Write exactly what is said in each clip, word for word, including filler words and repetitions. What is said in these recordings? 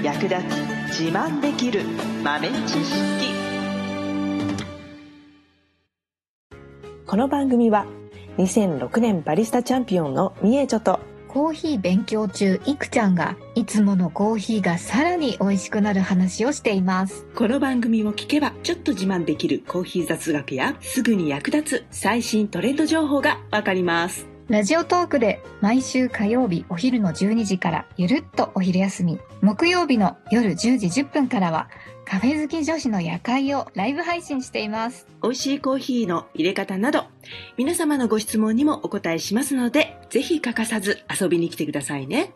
役立つ自慢できる豆知識。この番組はにせんろくねんバリスタチャンピオンのみえちょとコーヒー勉強中いくちゃんがいつものコーヒーがさらに美味しくなる話をしています。 この番組を聞けばちょっと自慢できるコーヒー雑学やすぐに役立つ最新トレンド情報がわかります。 ラジオトークで毎週火曜日お昼のじゅうにじからゆるっとお昼休み、木曜日の夜じゅうじじゅっぷんからはカフェ好き女子の夜会をライブ配信しています。 美味しいコーヒーの入れ方など皆様のご質問にもお答えしますので、ぜひ欠かさず遊びに来てくださいね。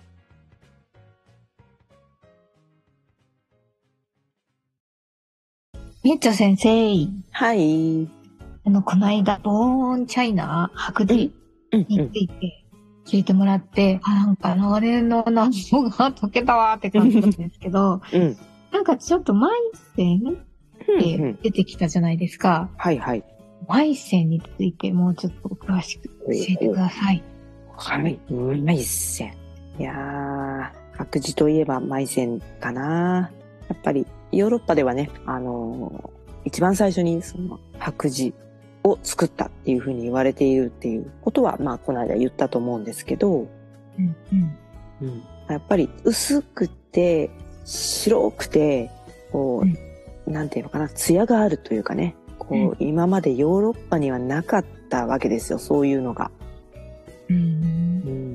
みえちょ先生、 はい。 あのこの間ボーンチャイナ白磁について聞いてもらって、うんうん、あなんかあれの謎が解けたわって感じなんですけど、うん、なんかちょっとマイセンって出てきたじゃないですか。 うんうん、はいはい。 マイセンについてもうちょっと詳しく教えてください。 はい。マイセン。いやー、白磁といえばマイセンかな。やっぱりヨーロッパではね、あのー、一番最初にその白磁を作ったっていうふうに言われているっていうことは、まあこの間言ったと思うんですけど、うんうんうん、やっぱり薄くて白くてこう、うん、なんていうのかな、艶があるというかね、こう、うん、今までヨーロッパにはなかったわけですよ、そういうのが。うんうん、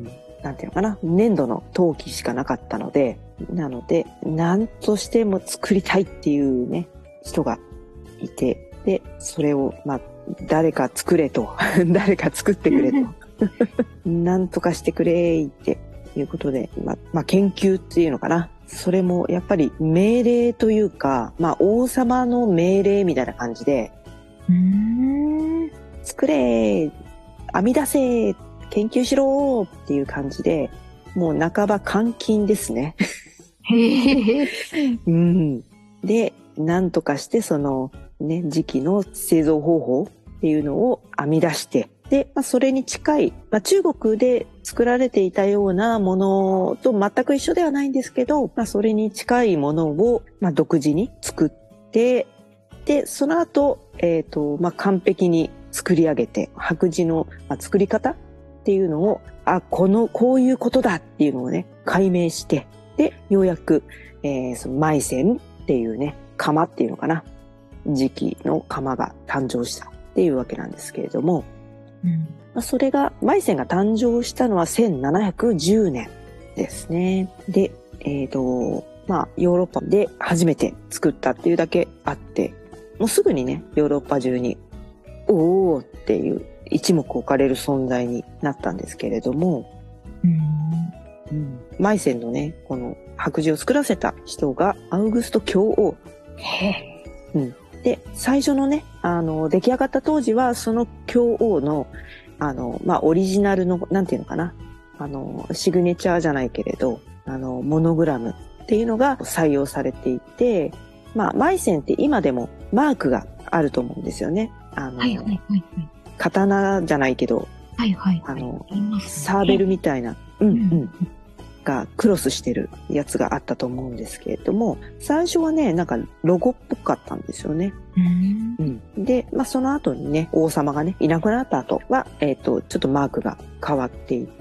なんていうのかな、粘土の陶器しかなかったので、なので何としても作りたいっていうね人がいて、でそれをまあ誰か作れと誰か作ってくれとなんとかしてくれっていうことで、まあ、まあ研究っていうのかな、それもやっぱり命令というか、まあ王様の命令みたいな感じで、うーん作れ、編み出せ、研究しろっていう感じで、もう半ば監禁ですねうん、でなんとかしてそのね時期の製造方法っていうのを編み出して、で、まあ、それに近い、まあ、中国で作られていたようなものと全く一緒ではないんですけど、まあ、それに近いものを、まあ、独自に作って、でその後、えーとまあ、完璧に作り上げて、白磁の、まあ、作り方っていうのを、あこのこういうことだっていうのをね解明して、でようやく、えー、そのマイセンっていうね窯っていうのかな、磁器の窯が誕生したっていうわけなんですけれども、うんまあ、それがマイセンが誕生したのはせんななひゃくじゅうねんですね。で、えーとまあ、ヨーロッパで初めて作ったっていうだけあって、もうすぐにねヨーロッパ中におーっていう一目置かれる存在になったんですけれども、うんうん、マイセンのねこの白磁を作らせた人がアウグスト教王。へー、うん、で最初のねあの出来上がった当時はその教王のあの、まあ、オリジナルのなんていうのかな、あのシグネチャーじゃないけれどあのモノグラムっていうのが採用されていて、まあ、マイセンって今でもマークがあると思うんですよね。あの、はいはいはいはい、刀じゃないけど、はいはいはい、あのサーベルみたいな、うんうん、がクロスしてるやつがあったと思うんですけれども、最初はねなんかロゴっぽかったんですよね。うんうん、で、まあ、その後にね王様がねいなくなった後は、えーと、ちょっとマークが変わっていって、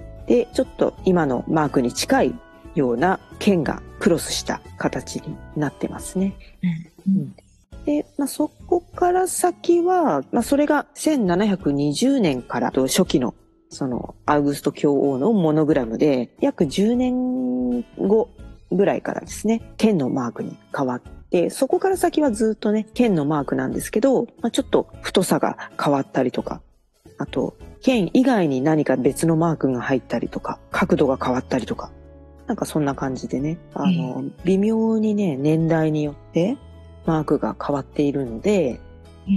ちょっと今のマークに近いような剣がクロスした形になってますね。うんうんでまあ、そこから先は、まあ、それがせんななひゃくにじゅうねんから初期のそのアウグスト教王のモノグラムで約じゅうねんごぐらいからですね剣のマークに変わって、そこから先はずっとね剣のマークなんですけど、まあ、ちょっと太さが変わったりとか、あと剣以外に何か別のマークが入ったりとか、角度が変わったりとか、なんかそんな感じでね、あの微妙にね年代によってマークが変わっているので、うん、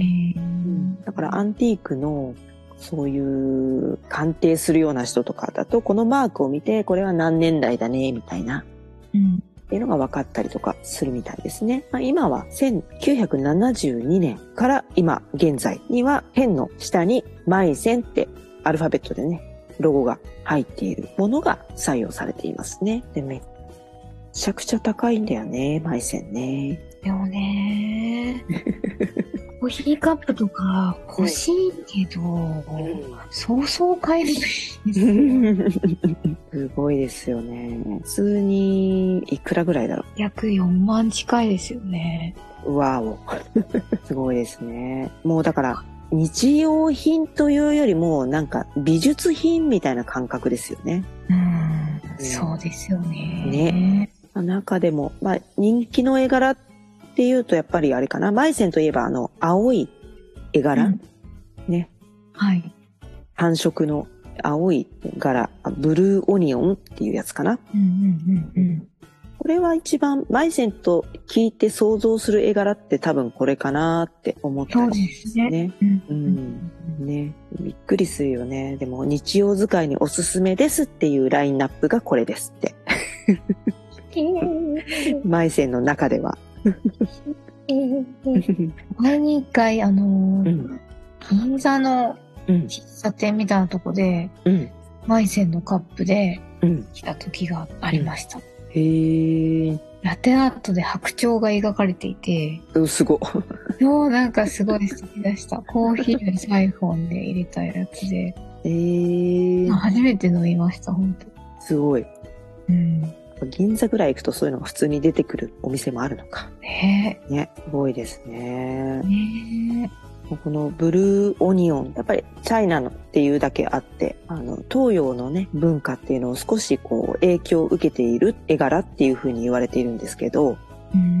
だからアンティークのそういう鑑定するような人とかだとこのマークを見てこれは何年代だねみたいな、うん、っていうのが分かったりとかするみたいですね。まあ、今はせんきゅうひゃくななじゅうにねんから今現在にはペンの下にマイセンってアルファベットでねロゴが入っているものが採用されていますね。でめっちゃくちゃ高いんだよね、マイセンね。 でもねコーヒーカップとか欲しいけど、うん、そうそう買えないですすごいですよね。普通にいくらぐらいだろう。 約よんまん近いですよね。 わおすごいですね。もうだから日用品というよりもなんか美術品みたいな感覚ですよね。 うん、うん、そうですよね。 ね。中でも、まあ、人気の絵柄っていうとやっぱりあれかな。マイセンといえばあの青い絵柄、うん、ね。 はい。 単色の青い柄、ブルーオニオンっていうやつかな。 うんうんうんうん。 これは一番マイセンと聞いて想像する絵柄って多分これかなって思ったりですね。そうですね。うん、うん、ね。びっくりするよね。でも日用使いにおすすめですっていうラインナップがこれですって。マイセンの中では。 前に一回あのーうん、銀座の喫茶店みたいなとこで、うん、マイセンのカップで来た時がありました。うん、 へー。 ラテアートで白鳥が描かれていて、 うん、すごい。 もうなんかすごい素敵でした。コーヒーにサイフォンで入れたやつで、 えー、 初めて飲みました本当。 すごい。 うん。 銀座ぐらい行くとそういうのが普通に出てくるお店もあるのか。 ねえ。ね、すごいですね。 ねえ。このブルーオニオン、やっぱりチャイナのっていうだけあって、あの、東洋のね、文化っていうのを少しこう影響を受けている絵柄っていう風に言われているんですけど、 うーん、 うん、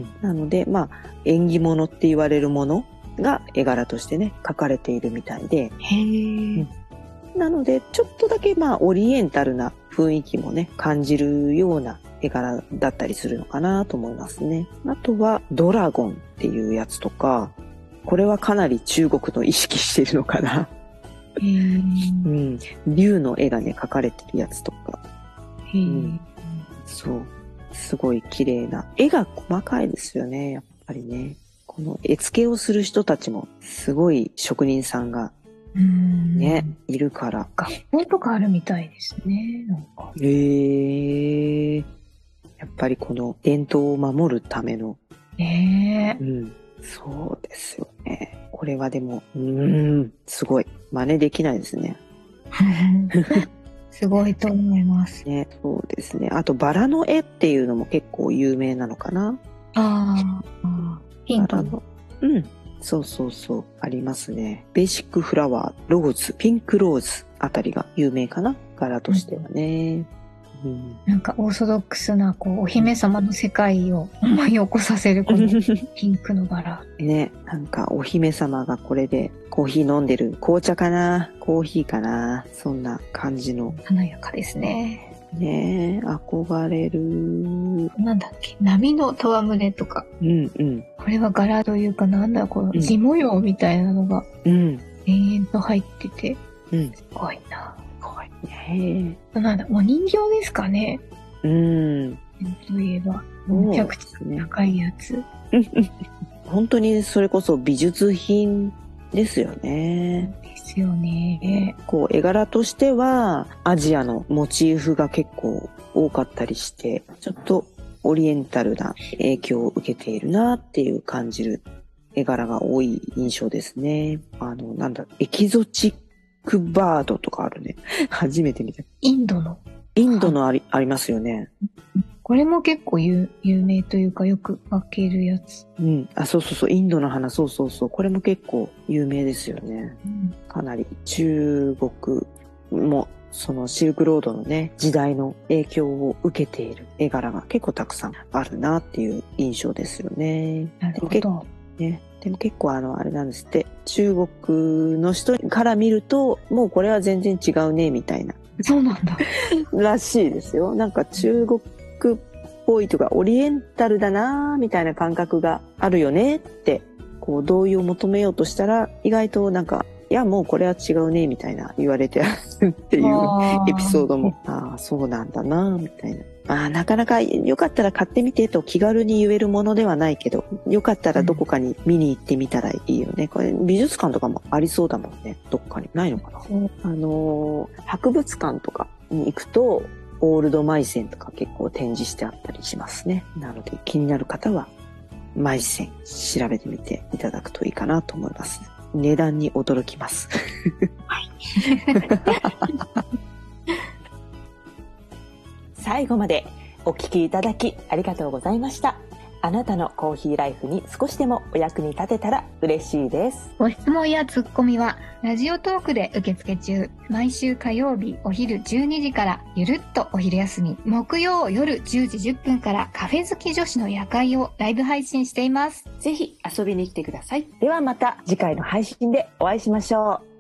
なので、まあ、縁起物って言われるものが絵柄としてね、描かれているみたいで、 へー。うんなので、ちょっとだけまあ、オリエンタルな雰囲気もね、感じるような絵柄だったりするのかなと思いますね。あとは、ドラゴンっていうやつとか、これはかなり中国の意識してるのかな。 へー。 うん。竜の絵がね、描かれてるやつとか。 へー。うん、 そう。すごい綺麗な。絵が細かいですよね、やっぱりね。この絵付けをする人たちも、すごい職人さんが、ね、いるから。 学校とかあるみたいですね、なんか。 へー。やっぱりこの伝統を守るための。 ねえ。 うん。そうですよね。これはでも、うーん、すごい。真似できないですね。 すごいと思います。 ね、そうですね。あと、バラの絵っていうのも結構有名なのかな。 ああ、ピンクの。 うん。そうそうそう。ありますね。ベーシックフラワー、ローズ、ピンクローズあたりが有名かな。柄としてはね。うん、 なんかオーソドックスな、こう、お姫様の世界を思い起こさせる、このピンクの柄。 ね、なんかお姫様がこれでコーヒー飲んでる。紅茶かな？コーヒーかな？そんな感じの。 華やかですね。 ねえ、憧れる。 なんだっけ、波の戯れとか。 うんうん。 これは柄というか、なんだ、この地模様みたいなのが、 うん。 延々と入ってて、 うん。 すごいな。 すごいね。 なんだ、お人形ですかね。 うん。 といえば、めちゃくちゃ高いやつ。 本当にそれこそ美術品ですよね。 ですよね。 こう絵柄としてはアジアのモチーフが結構多かったりして、ちょっとオリエンタルな影響を受けているなっていう感じる絵柄が多い印象ですね。あの、なんだ、エキゾチックバードとかあるね。初めて見た。 インドの。 インドのあり、ありますよね。 これも結構有有名というかよく分けるやつ。 うん。あ、そうそうそう。インドの花、そうそうそう。これも結構有名ですよね。うん、かなり中国もそのシルクロードのね、時代の影響を受けている絵柄が結構たくさんあるなっていう印象ですよね。 なるほど。 ね。でも結構あの、あれなんですって。中国の人から見ると、もうこれは全然違うね、みたいな。 そうなんだ。 らしいですよ。なんか中国っぽいとかオリエンタルだなみたいな感覚があるよねってこう同意を求めようとしたら意外となんかいやもうこれは違うねみたいな言われてるっていうエピソードもああそうなんだなみたいなあなかなかよかったら買ってみてと気軽に言えるものではないけどよかったらどこかに見に行ってみたらいいよね。これ美術館とかもありそうだもんね。どっかにないのかな。あの博物館とかに行くとオールドマイセンとか結構展示してあったりしますね。なので気になる方はマイセン調べてみていただくといいかなと思います。値段に驚きます。はい。 最後までお聞きいただきありがとうございました。あなたのコーヒーライフに少しでもお役に立てたら嬉しいです。 ご質問やツッコミはラジオトークで受付中。毎週火曜日お昼じゅうにじからゆるっとお昼休み、木曜夜じゅうじじゅっぷんからカフェ好き女子の夜会をライブ配信しています。 ぜひ遊びに来てください。ではまた次回の配信でお会いしましょう。